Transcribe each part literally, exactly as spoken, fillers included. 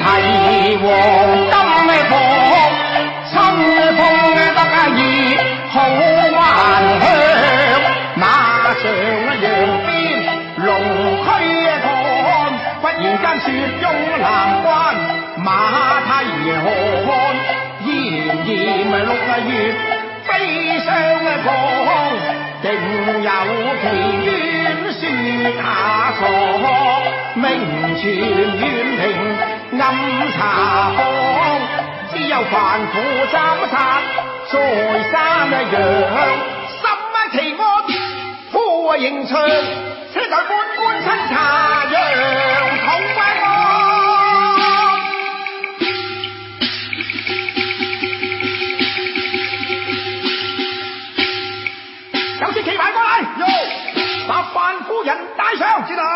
提黃金火，春風得意好還香，馬上揚鞭龍驅趕，忽然間雪擁南關，馬蹄寒，炎炎六月悲傷降，定有奇冤雪下鎖，名傳遠平暗茶坊，只有凡夫斬殺在山陽，什奇案呼迎長，車在半官親茶陽同歸案。有支旗牌過嚟，把范夫人帶上，知道。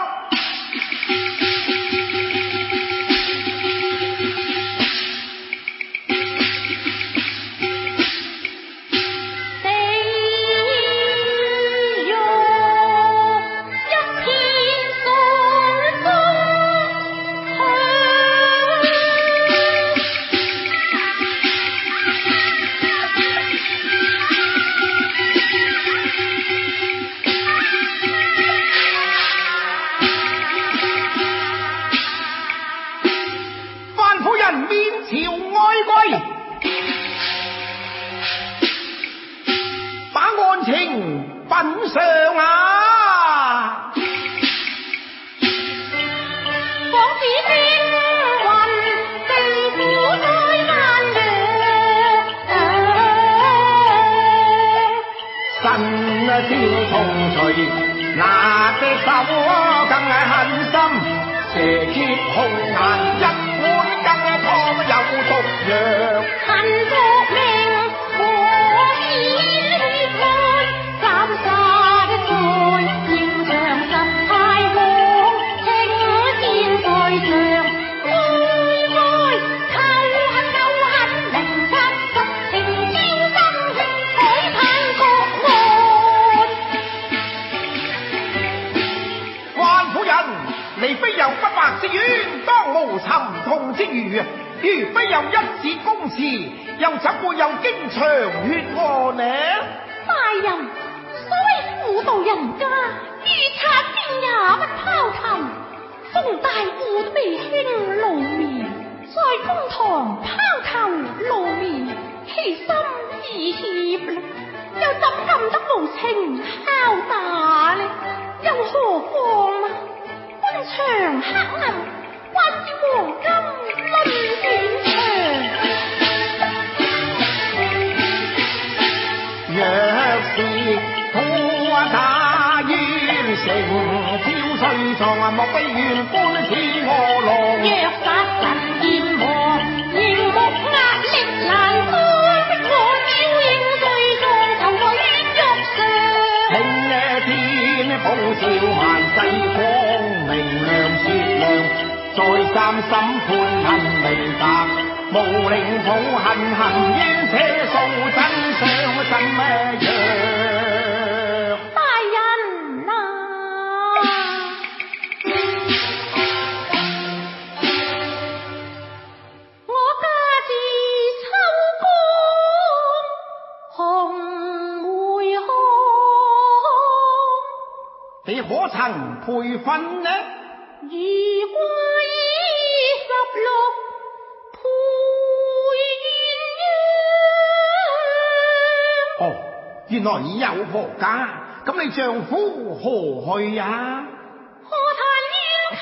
原來已有婆家，咁你丈夫何去呀？ 何談冤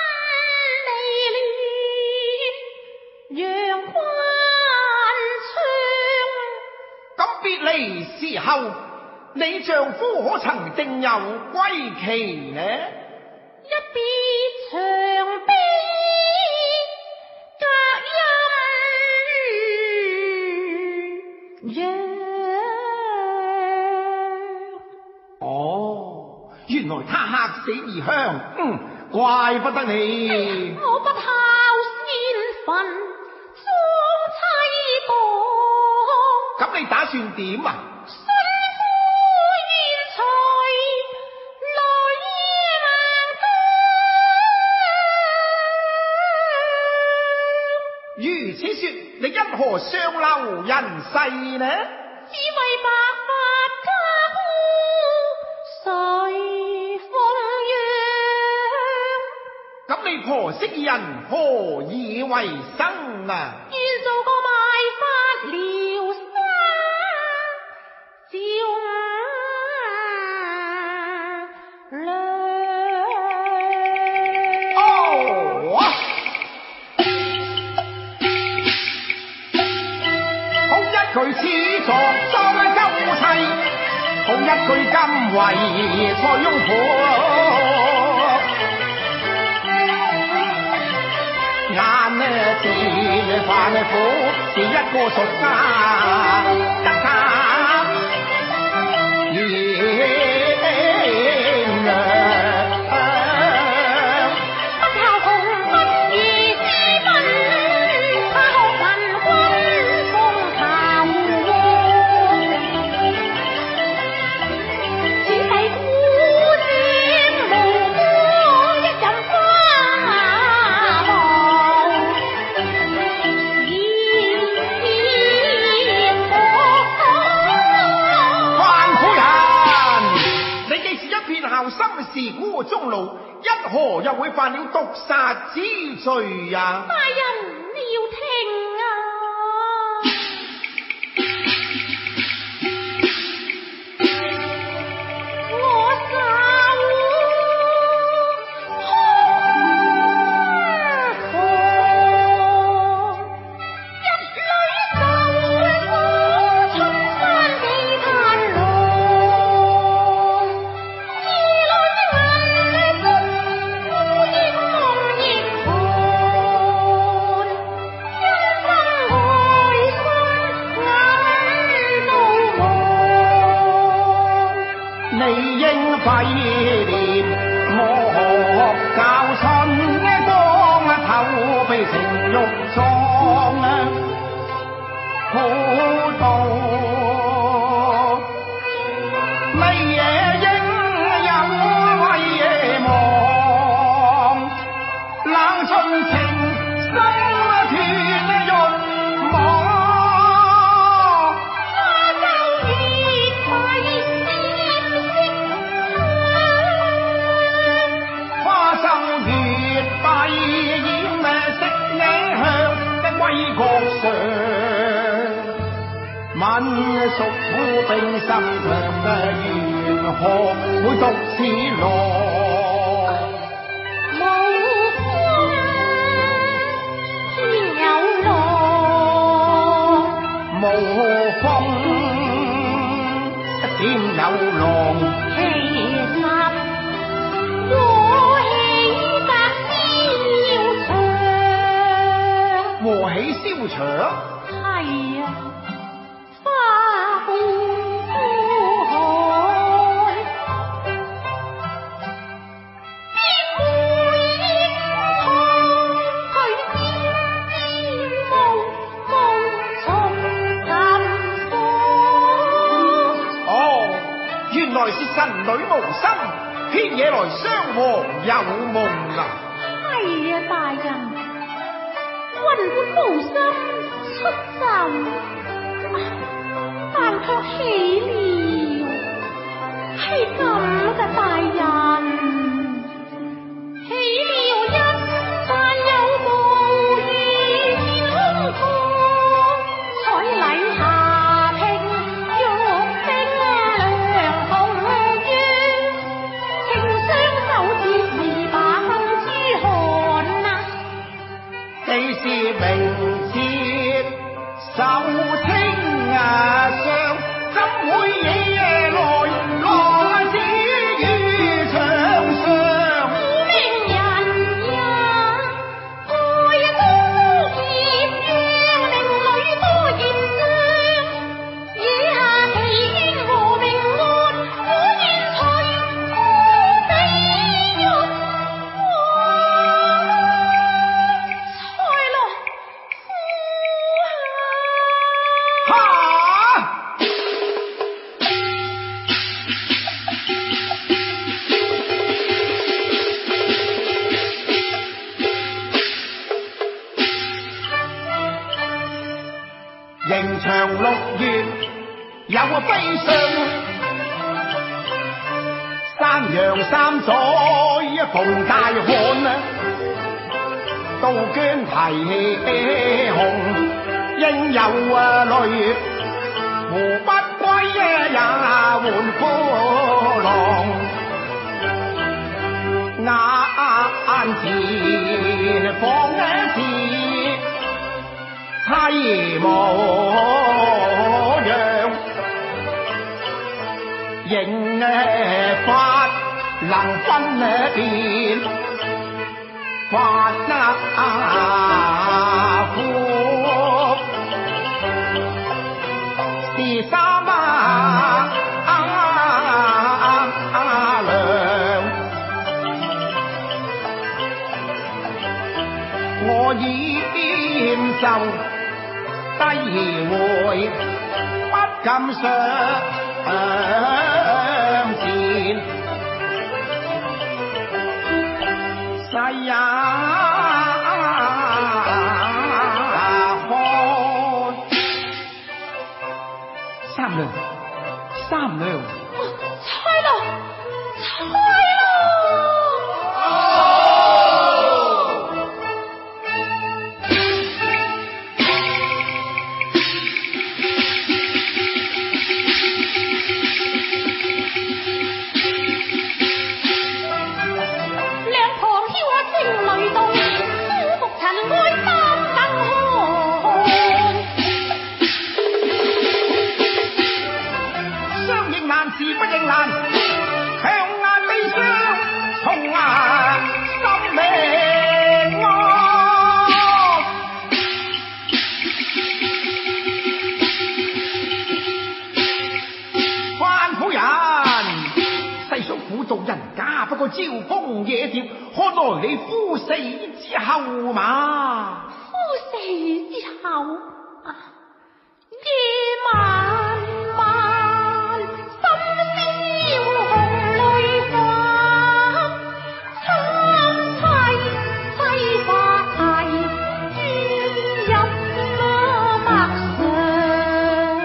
襟離亂，陽關窗。 咁別離時候，你丈夫可曾定有歸期呢？ 一別長悲，隔陰。 原來他客死異鄉，嗯，怪不得你。 我不孝先墳，雙妻黨。 咁你打算點啊？ 身夫冤財，來難如此说，你因何上流人世呢？ 只为白发家户谁奉养？ 咁你婆媳人何以为生啊？ 愿做个卖发疗沙照亮。 哦，好一句始作庄周妻，好一句今为蔡翁婆。眼呢是凡苦，是一个俗家得他不靠红不如之分，他學文君風頭王。此世古典無歌，一任花望。 范夫人，你既是一片孝心，是孤終老，一何又會犯了毒殺之罪呀？ 大人你要聽啊！我受空房，一女就我出山地嘆浪，二女銀樽孤英夢亦寒，一生愛心眼到望。 你應廢念我教春光頭被情欲撞啊，好道你也應有為夜望，冷盡情心斷潤網。 花洲月桂花生月閉掩色影向的歸國上，吻屬苦冰心腸嘅緣何會獨此落？ 無風天有浪， 無風點有浪？ 其實我喜隔消長。 和喜消長？ 係啊，花半枯海，邊會應錯佢沾沾霧霧從近火。 哦，原來是神女無心，偏惹來雙王有夢啊！ 係啊，大人，君本無心出陣，但卻喜了，係咁嘅大人，喜了一但有無意天空，彩禮下聘玉冰涼紅月，情相守節未把燈珠寒啊！ 既是明節受清啊上，怎會惹來浪子於牆上？ 苦命人也愛多劫，讓令女多孽障，惹下奇冤和命案，我願隨苦地獄才來迎長六月有悲傷，山陽三載逢大旱啊！刀捐提紅，應有淚，胡不歸也換夫郎。眼前放一次妻模樣，刑法能分辨法夫是三啊娘，我已厭受低回，不敢上前，世也看三娘，三娘， 猜咯，猜咯！ 招風野蝶，看來你夫死之後嘛？ 夫死之後，夜漫漫，深宵紅淚花，參妻妻髮轉入墨上。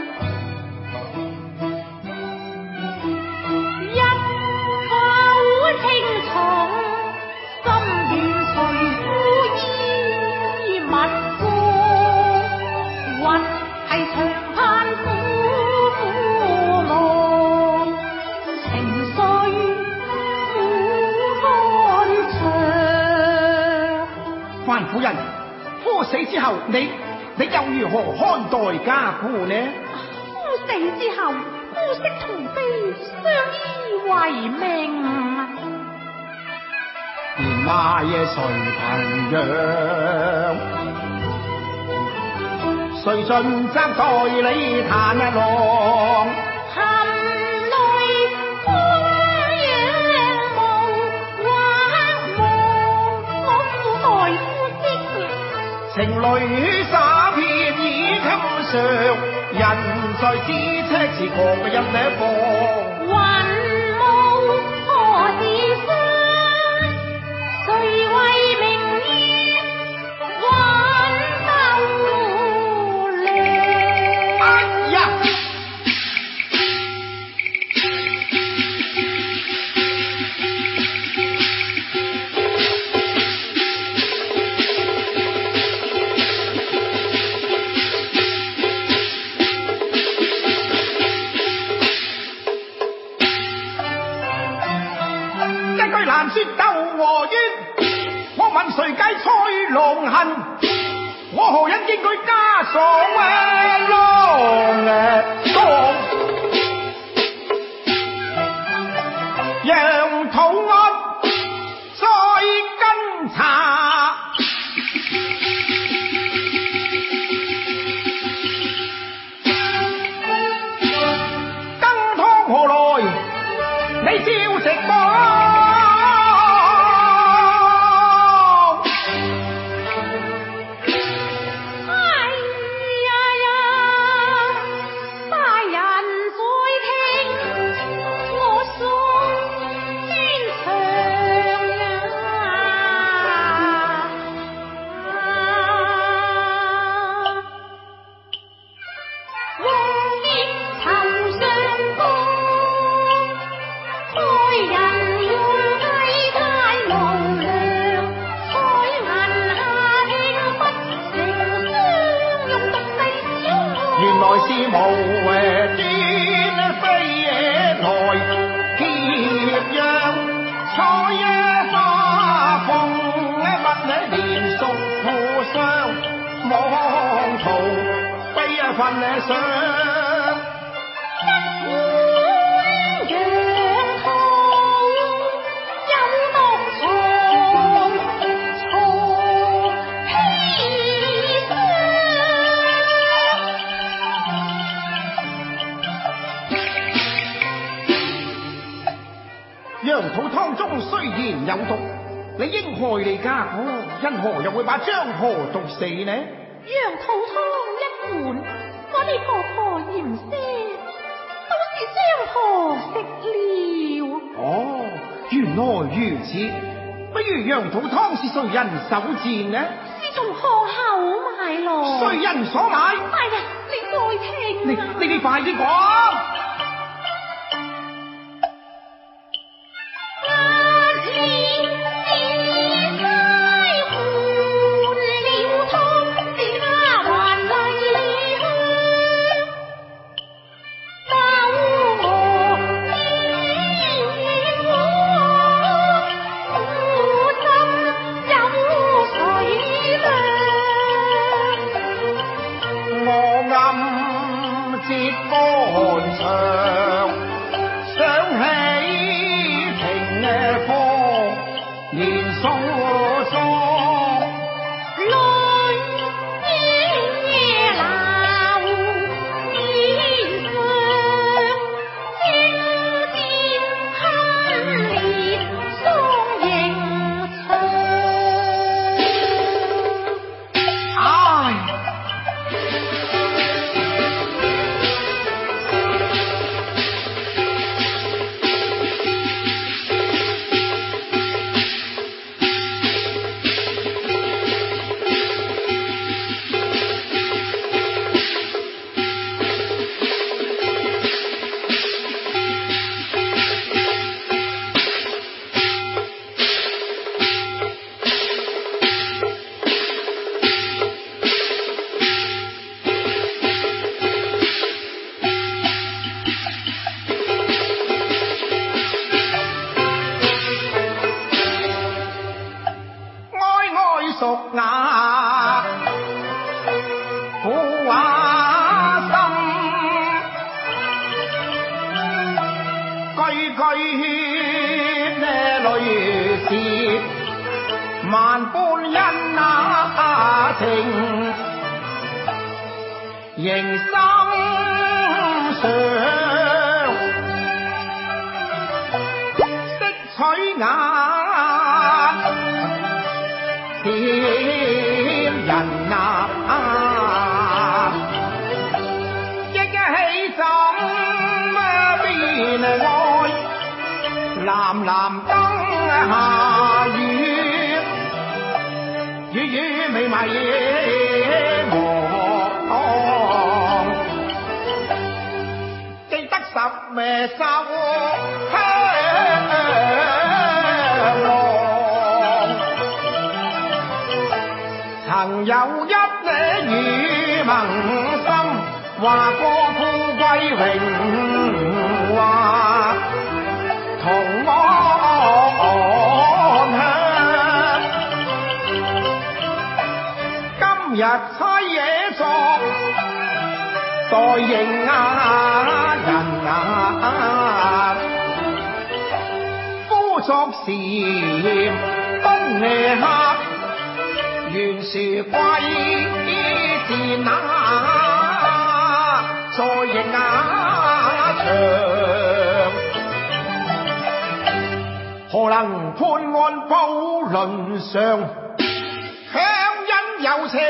范夫人，夫死之後，你你又如何看待家父呢？ 夫死之後，夫媳同悲，相依為命。 年邁誰憑養？誰盡責代你嘆一浪？情淚灑遍已襟上，人在咫尺時狂嘅一兩方。 雲霧何時散？誰為明月挽斗量？ 哎呀！難說鬥和冤，我問誰解蔡龍恨？我何因驚佢家喪啊浪當？讓土安再跟查，羹湯何來？你照食過。 無誒天飛來劫殃，採一花鳳不連屬互相，妄圖悲憤上。羊肚湯中雖然有毒，你應害你家婆，因何又會把張婆毒死呢？ 羊肚湯一碗，我哋婆婆嫌腥，都是張婆食了。 哦，原來如此。不如羊肚湯是誰人手賤呢？ 是從河口買來。 誰人所買？ 哎呀，你再聽你你你快啲講。萬般恩啊情，仍心上，識取眼，添人啊，憶起怎邊愛，藍藍燈下雨。雨雨微迷望，記得十咩收香浪，曾有一呢與盟心，話過富貴榮華，同安享。日妻野作待應啊人啊，夫作時東夜客，原是貴賤啊，在應啊場，何能判案報倫上？有情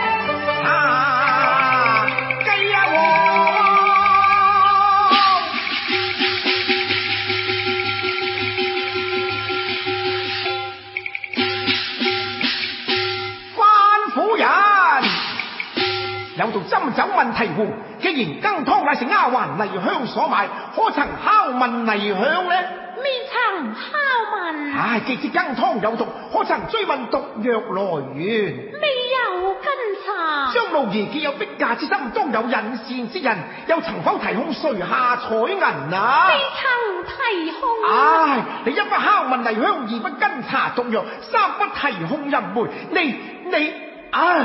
啊，雞啊關夫人有道斟酒問題壺，既然羹湯乃是丫鬟麗香所買，可曾拷問麗香呢？ 未曾拷問。 唉，既知羹湯有毒，可曾追問毒藥來源？ 未有跟查。 將老爺既有逼嫁之心，當有引線之人，又曾否提控垂下彩銀啊？ 未曾提控。 唉，你一不敲問黎香，二不跟查毒藥，三不提控淫梅，你你唉，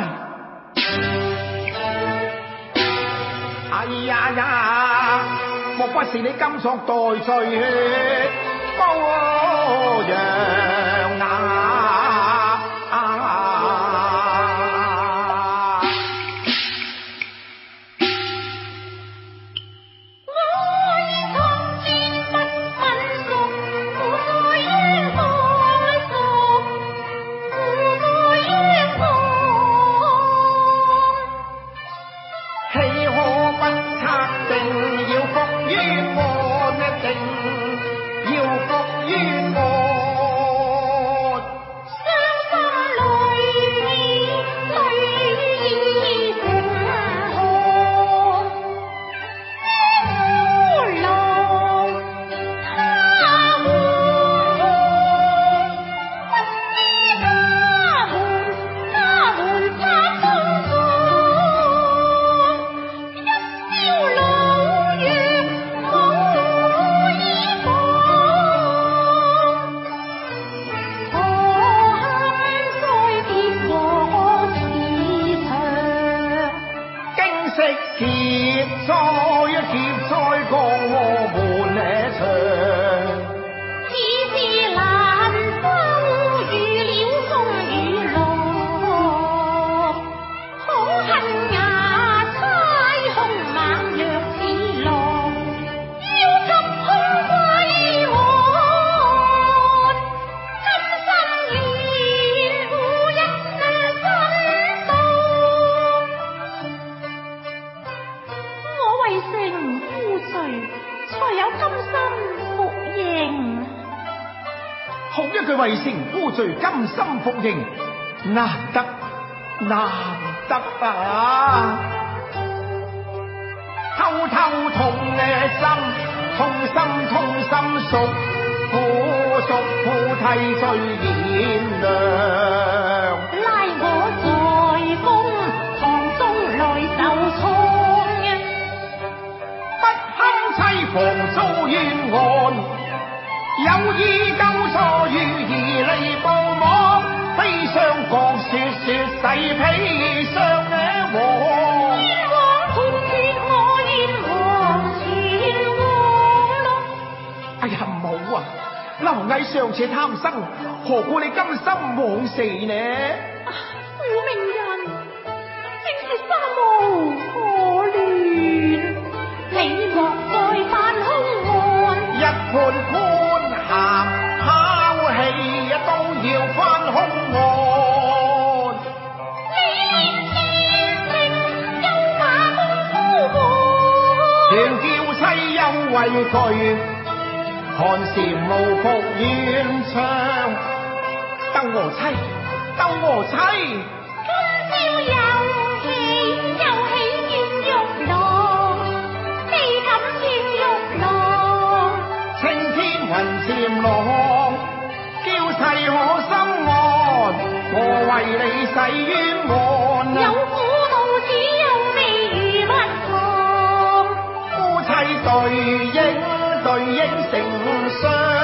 哎呀呀，莫不是你今作代罪羔羊啊！為成夫罪甘心服刑，難得難得啊！偷偷痛嘅心，痛心痛心屬苦屬苦替罪炎涼， 拉我在公堂中來受創， 不堪妻房遭冤案。有意救錯於義利報網，悲傷講說說洗皮上嘅黃。 冤枉斷絕我冤枉前往咯。 哎呀唔好啊！螻蟻尚且貪生，何故你甘心枉死呢？ 苦命人正是生無可戀，你莫再犯兇案， 一判判。鹹拋棄都要翻兇案， 你念天命休把功夫換， 全叫妻休畏懼，看禪無復怨唱，鬥我妻，鬥我妻， 今朝又喜又喜怨玉郎，你敢怨玉郎？ 青天雲潛浪，嬌妻可心安，我為你洗冤案。 有苦道只有未如蜜糖， 夫妻對應對應成雙。